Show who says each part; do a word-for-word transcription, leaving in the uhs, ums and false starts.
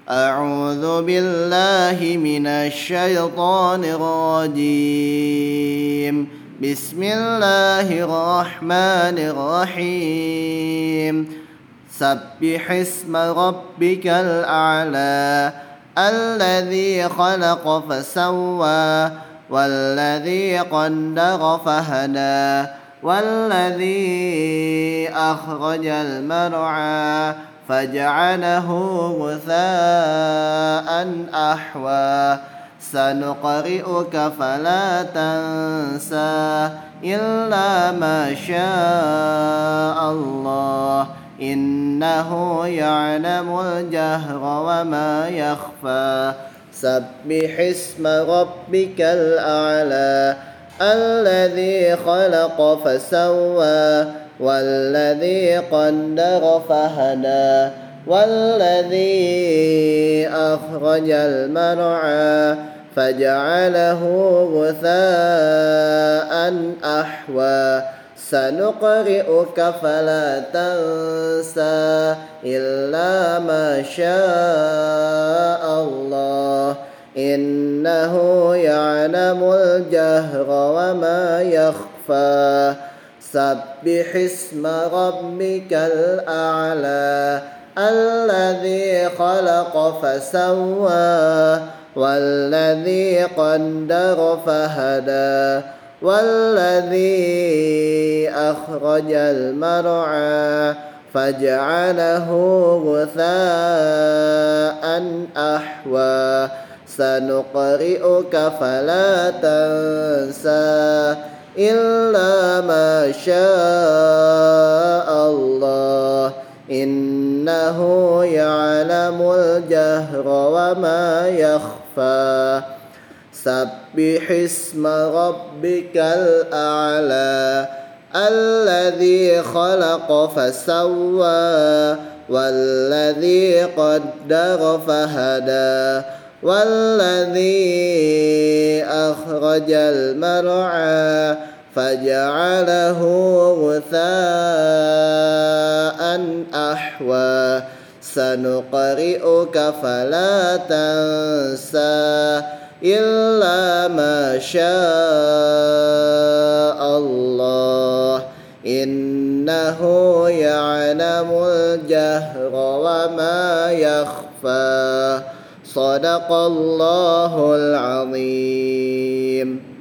Speaker 1: أعوذ بالله من الشيطان الرجيم. بسم الله الرحمن الرحيم. سبح اسم ربك الأعلى الذي خلق فسوى والذي قدر فهدى والذي أخرج المرعى فجعله غثاء أحوى سنقرئك فلا تنسى إلا ما شاء الله إنه يعلم الجهر وما يخفى. سبح اسم ربك الأعلى الذي خلق فسوى والذي قدر فهدى والذي أخرج المرعى فجعله غثاء أحوى سنقرئك فلا تنسى إلا ما شاء الله إنه يعلم الجهر وما يخفى. سبح اسم ربك الأعلى الذي خلق فسوى والذي قدر فهدى والذي أخرج المرعى فجعله غثاء أحوى سنقرئك فلا تنسى إلا ما شاء الله إنه يعلم الجهر وما يخفى. سبح اسم ربك الأعلى الذي خلق فسوى والذي قدر فهدى والذي أخرج المرعى فجعله غثاء أحوى سنقرئك فلا تنسى إلا ما شاء الله إنه يعلم الجهر وما يخفى. صدق الله العظيم.